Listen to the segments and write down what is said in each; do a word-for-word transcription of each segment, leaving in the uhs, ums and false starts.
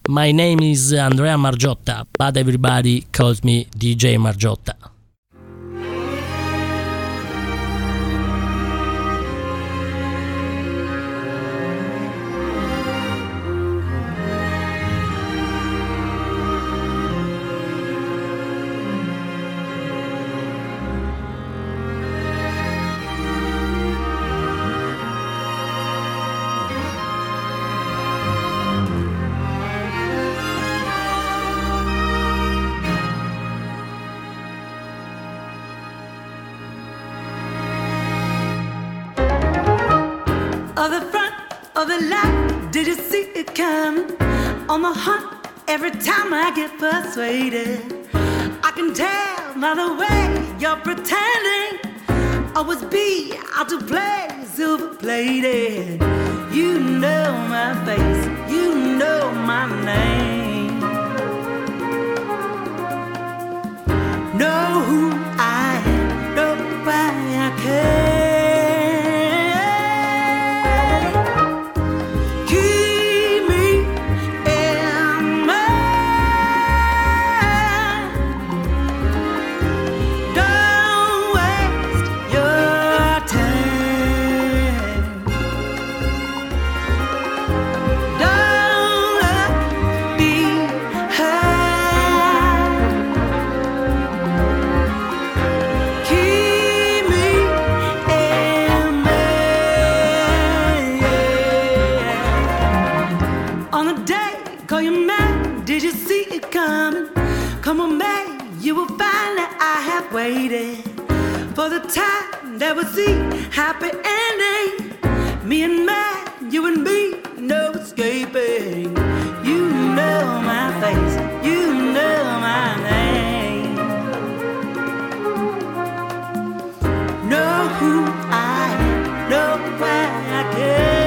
My name is Andrea Margiotta, but everybody calls me D J Margiotta. Of the front of the line, did you see it coming? On the hunt, every time I get persuaded. I can tell by the way you're pretending. Always be out to play, silver plated. You know my face, you know my name. Know who I am, know why I came. Come on, man, you will find that I have waited for the time that would see happy ending. Me and man, you and me, no escaping. You know my face, you know my name. Know who I am, know why I care.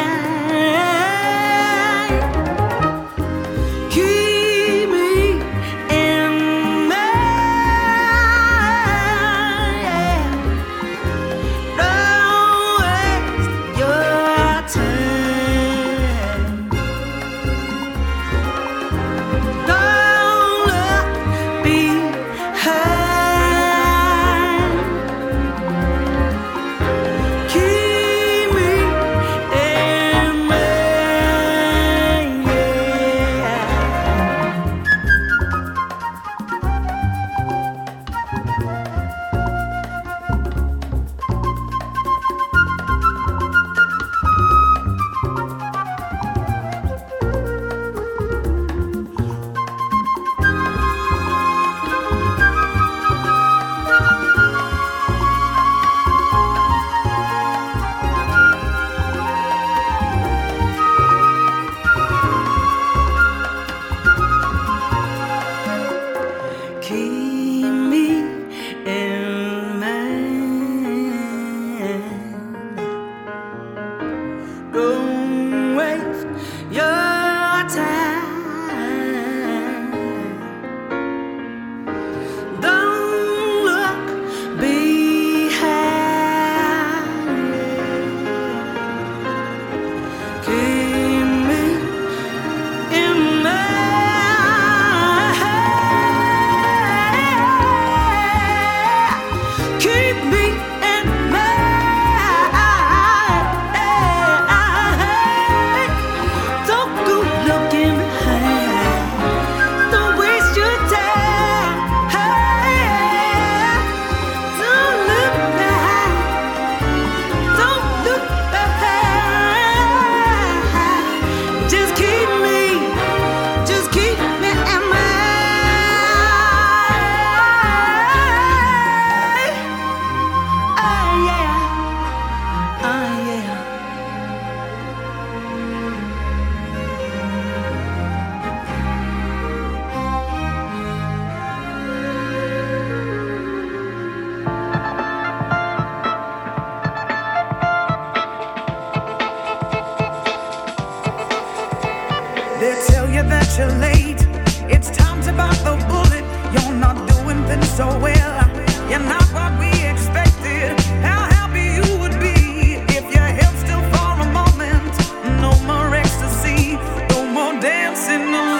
You're late. It's time to bite the bullet. You're not doing things so well. You're not what we expected. How happy you would be if your health still for a moment. No more ecstasy, no more dancing alone.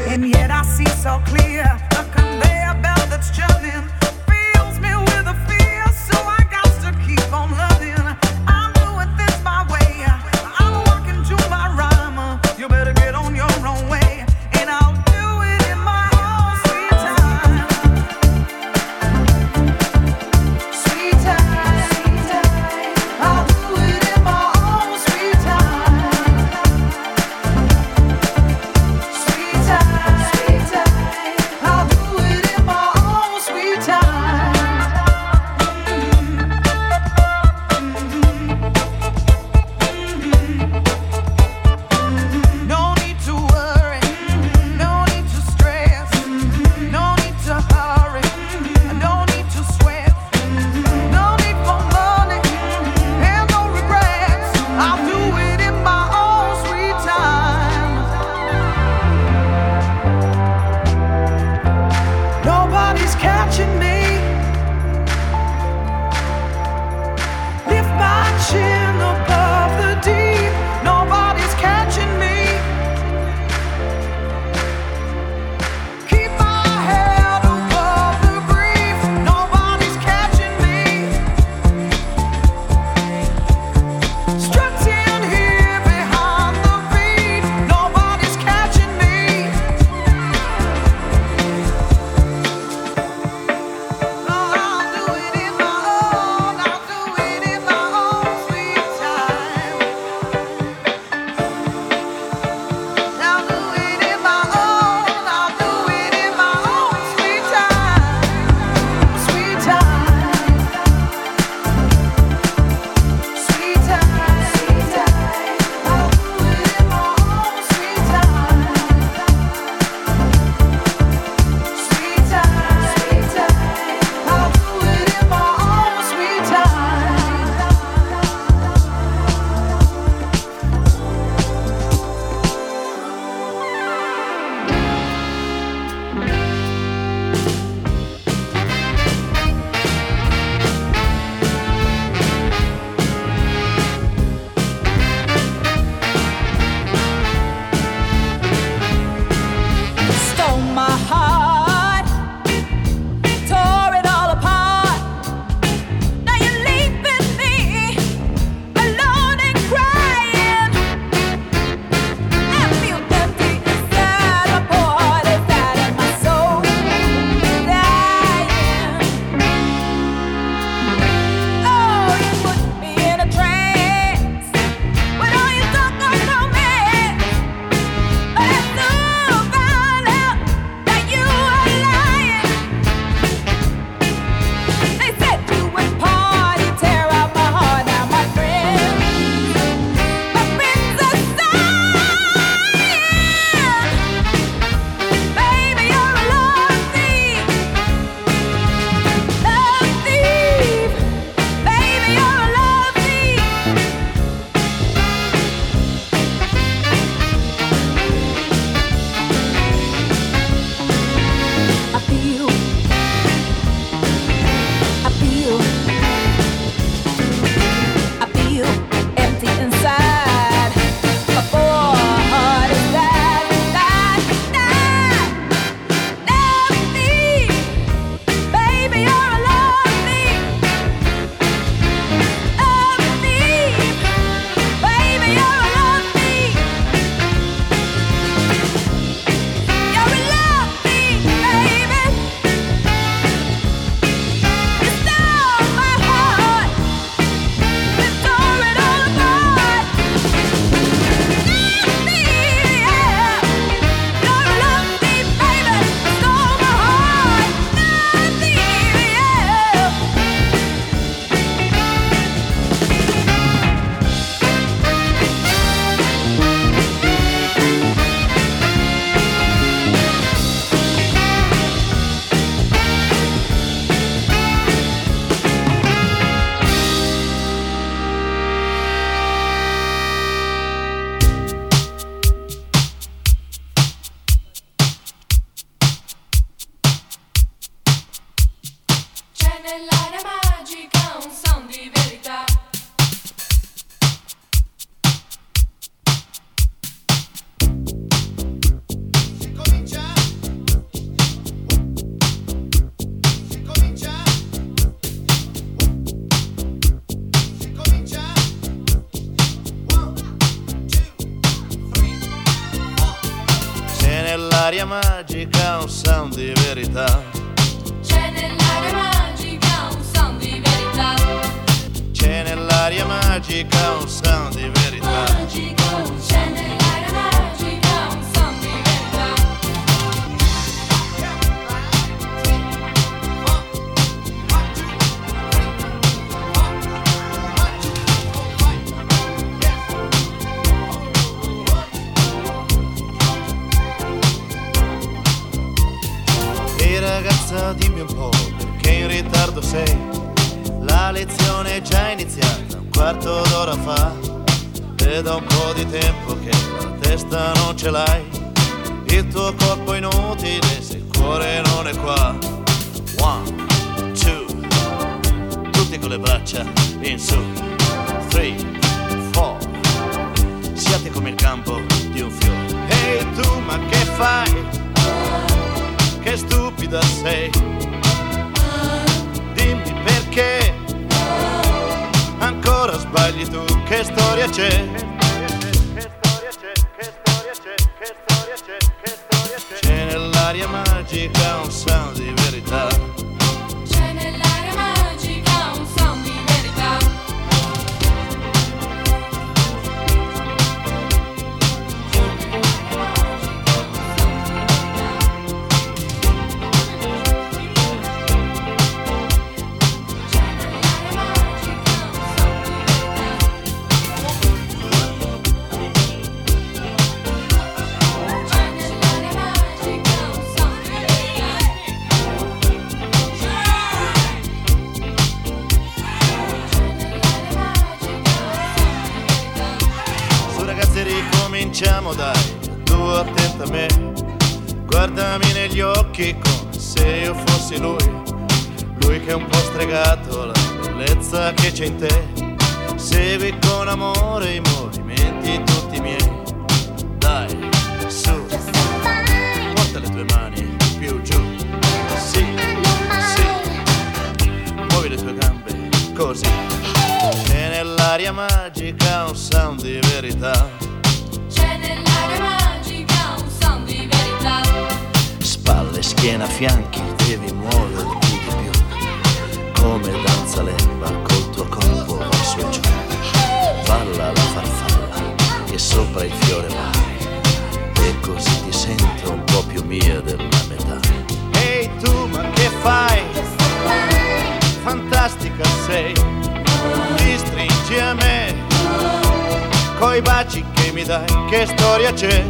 And yet I see so clear a conveyor belt that's churning fills me with a fear, so I got to keep on loving. I'm doing this my way. I'm walking to my rhyme. You better get on your own way, and I'll do it in my own sweet time. Sweet time, sweet time. I'll do it in my own sweet time. Sweet time, sweet time. I'll do it in my own sweet time. No need to worry, no need to stress, no need to hurry, no need to sweat, no need for money and no regrets. I'll do it in my own sweet time. Nobody's catching me. Lift my chin above the deep. Nobody's catching me. Keep my head above the grief. Nobody's catching me. Strutting here behind the beat. Nobody's catching me. I'll do it in my own. I'll do it in my own sweet time. I'll do it in my own. I'll do it in my own sweet time. Sweet time. Sweet time. Sweet time. I'll do it in my own sweet time. Sweet time. Sweet time. I'll do it in my own sweet time. Stole my heart, tore it all apart. Now you're leaving me alone and crying. I feel empty inside, my poor heart is out and my soul dying. Oh, you put me in a trance with all your talk on romance. But I soon found out that you were lying. They said you would party, tear out my heart. Now my friends, my friends are sighing. Baby, you're a love thief, love thief. Baby, you're a love thief. I feel, I feel, I feel empty inside. My poor heart is dead, dead, dead. Love thief, baby, you're a love thief. Love thief, baby, you're a love thief. You're a love thief, baby. You stole my heart, you tore it all apart. Love thief, yeah. You're a love thief, baby. You stole my heart. Love thief, yeah. C'è nell'aria magica un son di verità. Si comincia magica un sound di verità. C'è nell'aria magica un sound di verità. C'è nell'aria magica un sound di verità. Magico, c'è nell'aria magica un sound di verità. E ragazza dimmi un po' perché in ritardo sei. La lezione è già iniziata un quarto d'ora fa. E da un po' di tempo che la testa non ce l'hai. Il tuo corpo è inutile se il cuore non è qua. One, two, tutti con le braccia in su. Three, four, siate come il campo di un fiore. Ehi hey, tu ma che fai? Che stupida sei. Dimmi perché ancora sbagli tu. Che storia c'è? Che storia c'è? Che storia c'è? Che storia c'è? Che storia c'è? C'è nell'aria magica un sound di verità. C'è nell'aria magica un sound di verità. Ricominciamo dai, tu attenta a me. Guardami negli occhi come se io fossi lui. Lui che è un po' stregato, la bellezza che c'è in te. Segui con amore i movimenti tutti miei. Dai, su, porta le tue mani più giù. Sì, sì, muovi le tue gambe così. C'è nell'aria magica un sound di verità. C'è nell'aria magica un sound di verità. Spalle, schiena, fianchi, devi muoverti di più. Come danza l'erba col tuo corpo va su e giù. Balla la farfalla che sopra il fiore va. E così ti sento un po' più mia della metà. Ehi hey, tu ma che fai? Fantastica sei. Ti stringi a me coi baci che mi dai. Che storia c'è?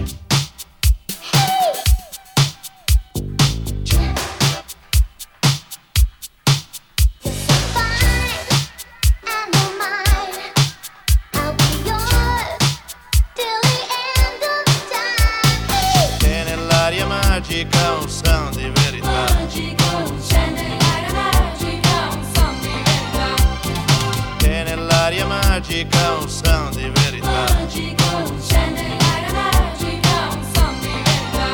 C'è nell'aria magica un sound di verità. C'è nell'aria magica un sound di verità. C'è nell'aria magica un sound di verità. C'è nell'aria magica un sound di verità.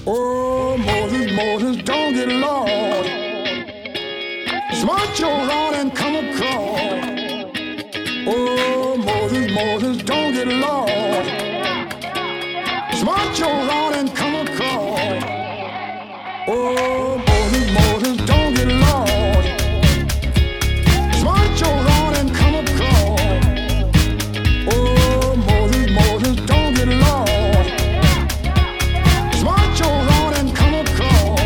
Oh, Moses, Moses, don't get lost. Smart your rod and come across. Oh, Moses, Moses, don't get lost. Smart your rod and come across. Oh, Moses, Moses, don't get lost. Smart your rod and come across. Oh, Moses, Moses, don't get lost. Smart your rod and come across.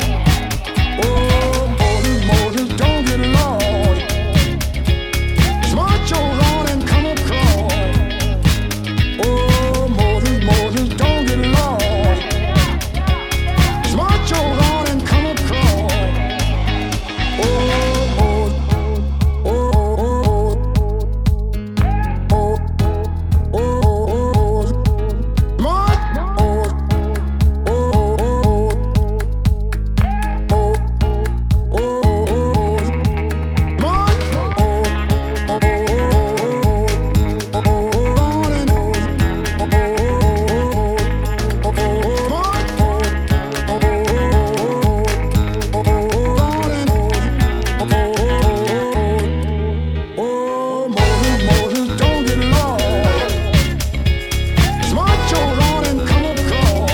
Oh, Moses, Moses, don't get lost. Smart your rod and come across. Oh, Moses, Moses, don't get lost. Smart your rod and come across. Oh, oh, oh, oh, oh, oh, oh, smart, oh, oh, oh, oh, oh, smart, oh, Moses, Moses, don't get lost. Smart your rod and come across.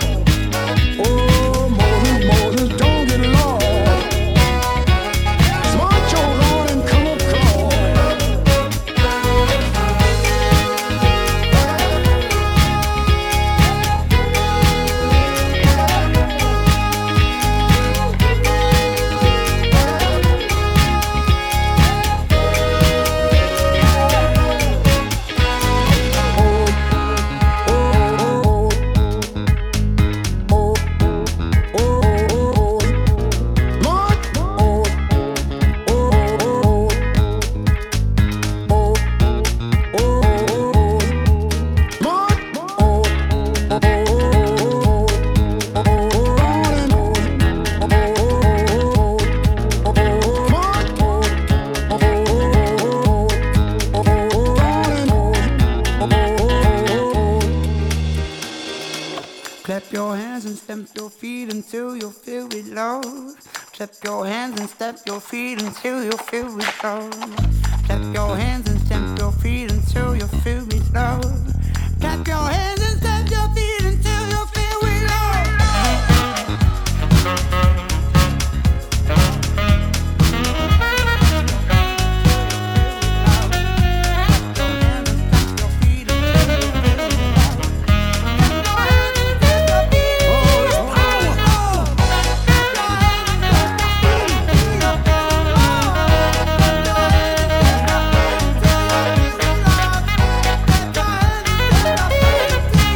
Oh, Moses, Moses, don't get lost. Smart your rod and come across. Clap your hands and stamp your feet until you feel with love. Clap your hands and stamp your feet until you feel with love. Clap your hands and stamp your feet until you feel with love. Clap your hands and stamp your feet until you feel with love. Oh,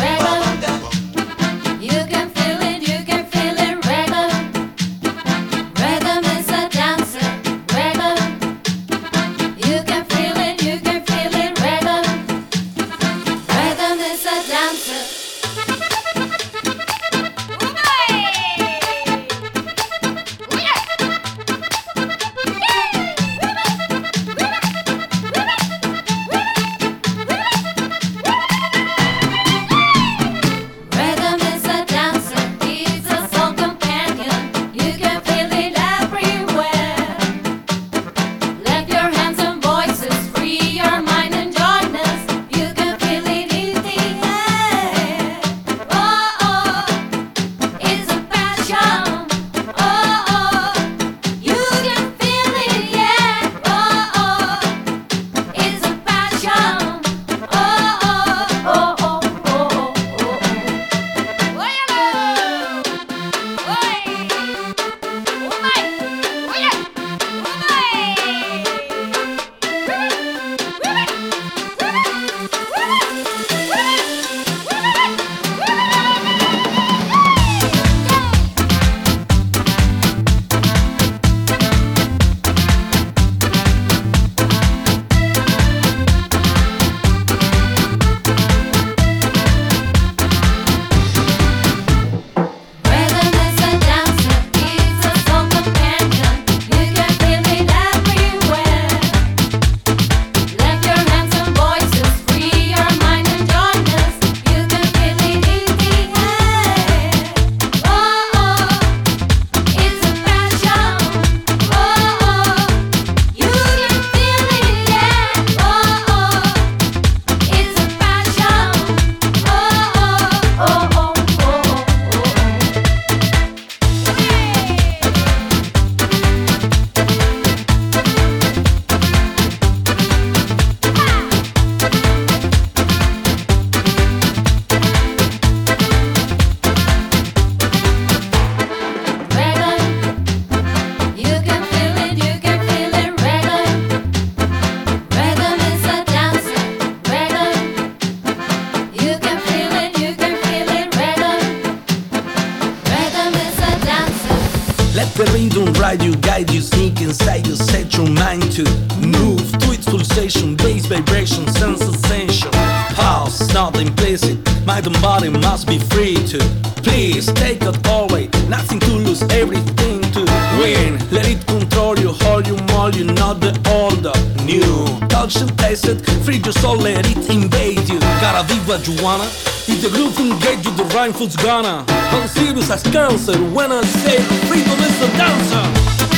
The rhythm ride you, guide you, sneak inside you, set your mind to move to its pulsation, bass vibration, sense sensation. House, not implicit, mind and body must be free to. Please take it always, nothing to lose, everything to win. Let it control you, hold you, mold you, not the old, new. Touch and taste it, free your soul, let it invade you. Cara viva Juana, if the groove engage you, the rhyme food's gonna. I'm serious as cancer when I say freedom is a dancer.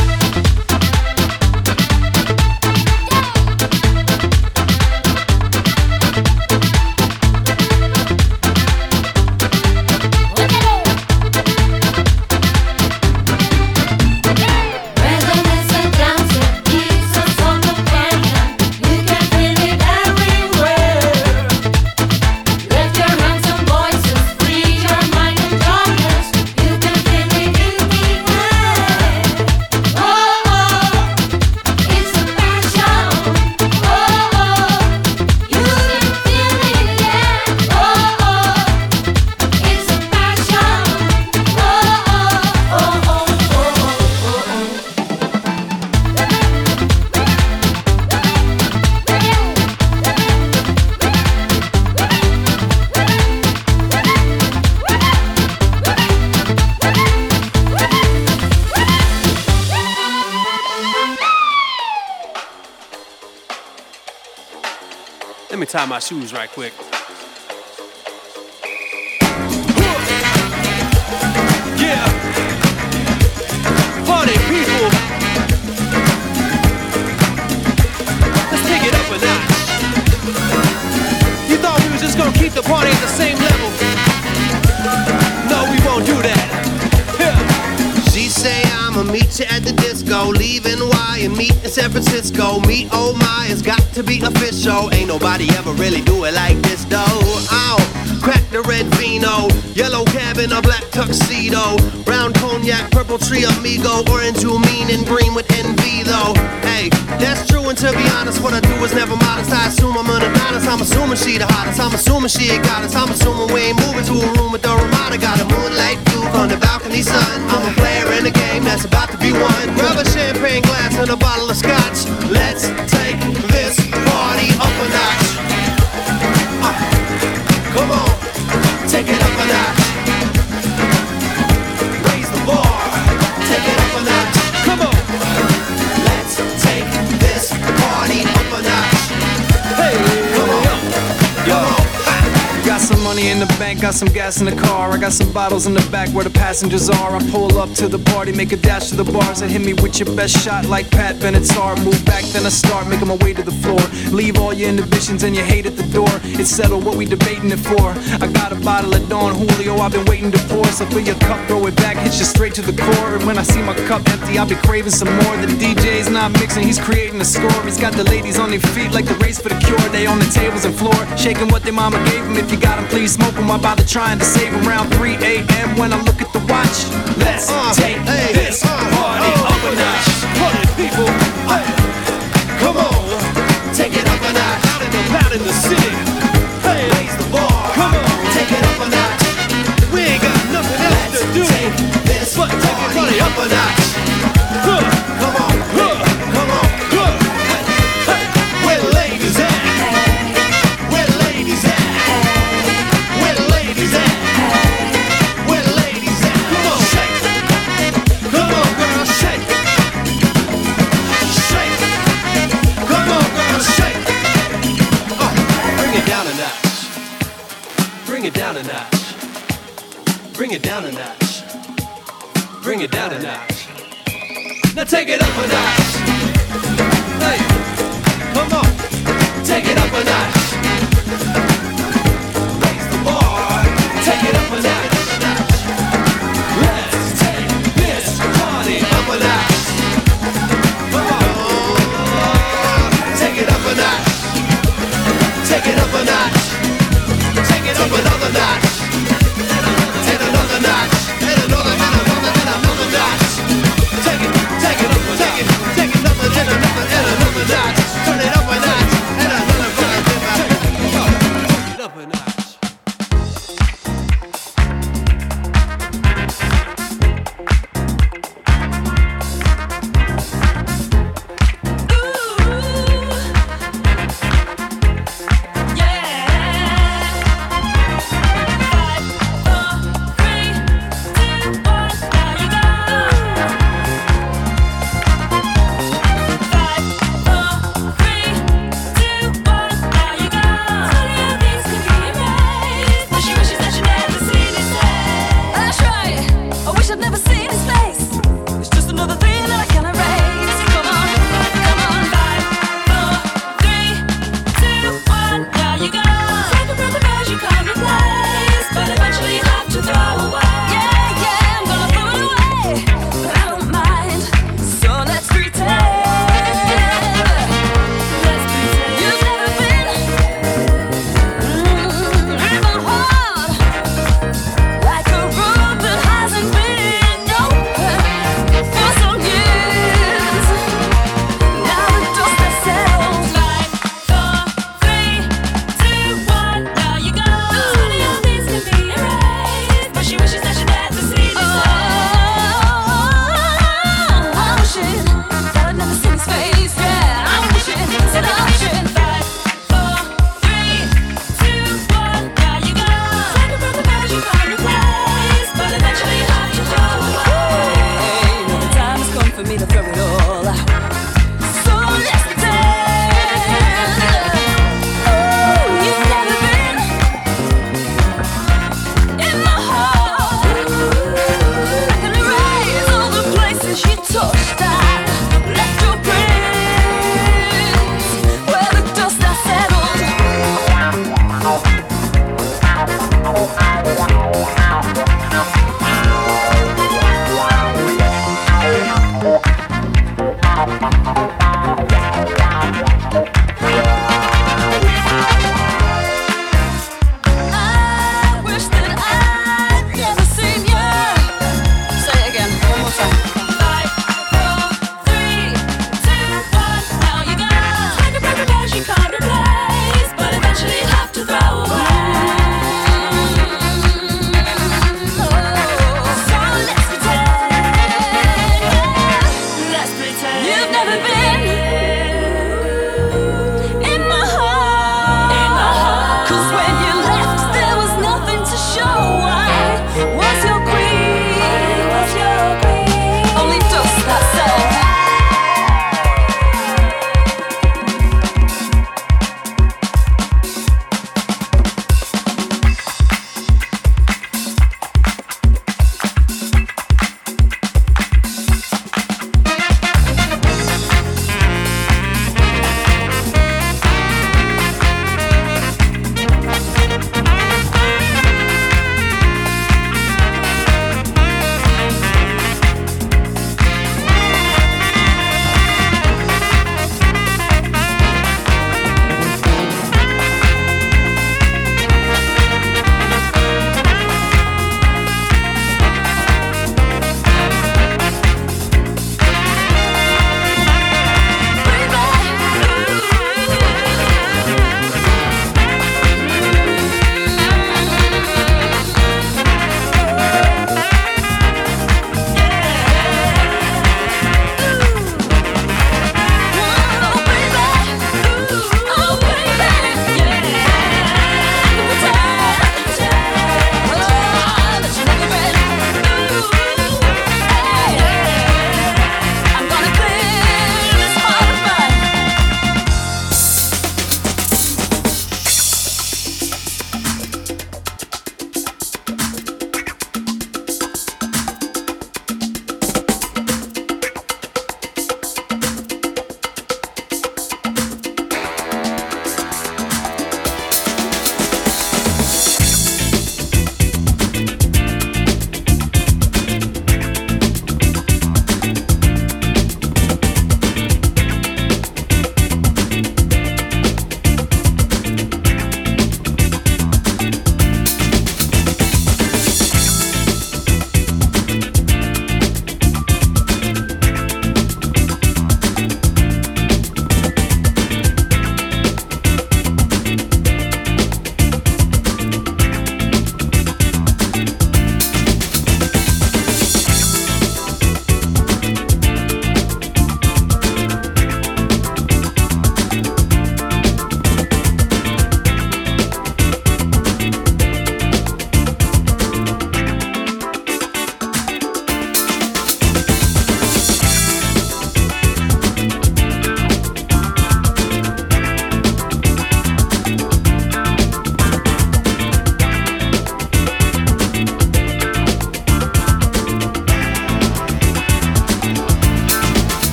Let me tie my shoes right quick. Yeah, party people, let's take it up a notch. You thought we was just gonna keep the party at the same level? No, we won't do that. Yeah. She say I'ma meet you at the disco, leaving Y and meet in San Francisco. Meet oh my, it's got to be official. Ain't nobody ever really do it like this though. Ow, crack the red vino, yellow cab in a black tuxedo, brown cognac cognac, purple tree, amigo, orange, you mean, and green with envy, though. Hey, that's true, and to be honest, what I do is never modest. I assume I'm an honest. I'm assuming she the hottest. I'm assuming she ain't got us. I'm assuming we ain't moving to a room with the Ramada. Got a moonlight view on the balcony sun. I'm a player in a game that's about to be won. Grab a champagne glass and a bottle of scotch. Let's take this party up a notch. Uh, come on, take it up a notch. Raise the bar, take it up a notch. Come on, let's take this party up a notch. Hey, come on, yo, come on. Got some money in the bank, got some gas in the car. I got some bottles in the back where the passengers are. I pull up to the party, make a dash to the bars. And hit me with your best shot like Pat Benatar. Move back, then I start making my way to the floor. Leave all your inhibitions and your hate at the door. It's settled what we debating it for. I got a bottle of Don Julio I've been waiting to pour. So fill your cup, throw it back, hit you straight to the core. And when I see my cup empty, I'll be craving some more. The D J's not mixing, he's creating a score. He's got the ladies on their feet like the race for the cure. They on the tables and floor, shaking what their mama gave them. If you got them, please smoke them. I bother trying to save them. Around three A M when I look at the watch. Let's uh, take hey, this uh, party oh, up a notch. Party people, uh, come on, take it up a notch. Out in the out in the city, hey, raise the bar. Come on, take it up a notch. We ain't got nothing else Let's to do take this but take it party up a notch. Huh. Come on, huh. come on, huh. hey. Where the ladies at? Where the ladies at? Where the ladies at? Where the ladies at? Come on, shake. Come on, girl, shake. Shake. Come on, girl, shake. Uh, bring it down a notch. Bring it down a notch. Bring it down a notch. Bring it down a notch. Now take it up a notch. Hey, come on, take it up a notch. Raise the bar, take it up a notch. Let's take this party up a notch. Come on, take it up a notch. Take it up a notch. Take it up another notch. And another notch. And another, and another, and another notch. Take it, take it up a notch. Take it up and another, and another notch. Turn it up a notch. And another, and another.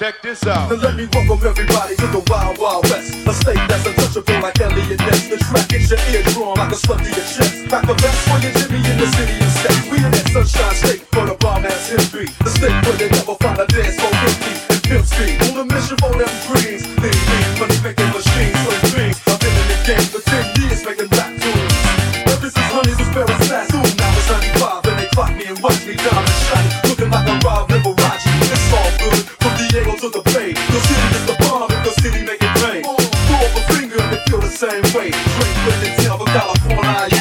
check this out. Now let me welcome everybody to the Wild Wild West, a state that's untouchable like Elliot Ness. The track hits your eardrum like a slug to your chest. Back the best for your Jimmy in the city and state. We in that sunshine state for the bomb ass history. The state where they never find a dance for empty and pimp speed. On a mission for them greens, lean, lean, money making machines, so dreams. I've been in the game for ten years making rap tunes. Ever since Honey's was very fast, soon now it's ninety-five and they clock me and watch me diamond shiny, looking like a Rob Liberace. It's all good from Diego to the Bay. Your city is the bomb if your city make it rain. Throw up a finger and they feel the same way. Drink with it, tell for California.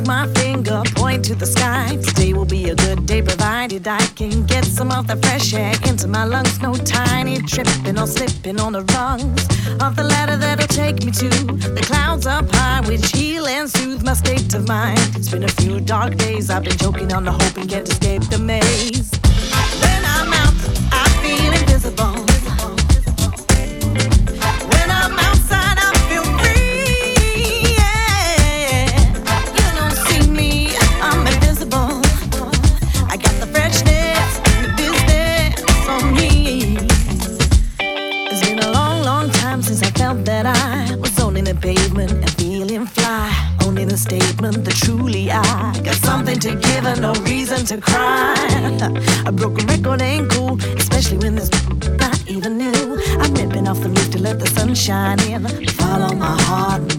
my finger, point to the sky. Today will be a good day provided I can get some of the fresh air into my lungs. No tiny tripping or slipping on the rungs of the ladder that'll take me to the clouds up high, which heal and soothe my state of mind. It's been a few dark days, I've been choking on the hope and can't escape the maze. When I'm out, I feel invisible. When I'm outside, I feel free. Yeah. You don't see me, I'm invisible. I got the freshness and the business on me. It's been a long, long time since I felt that I was owning the pavement and feeling fly. Owning a statement that truly I got something to give and no reason to cry. A broken record ain't cool, especially when there's not even new. I'm ripping off the roof to let the sun shine in. Follow my heart,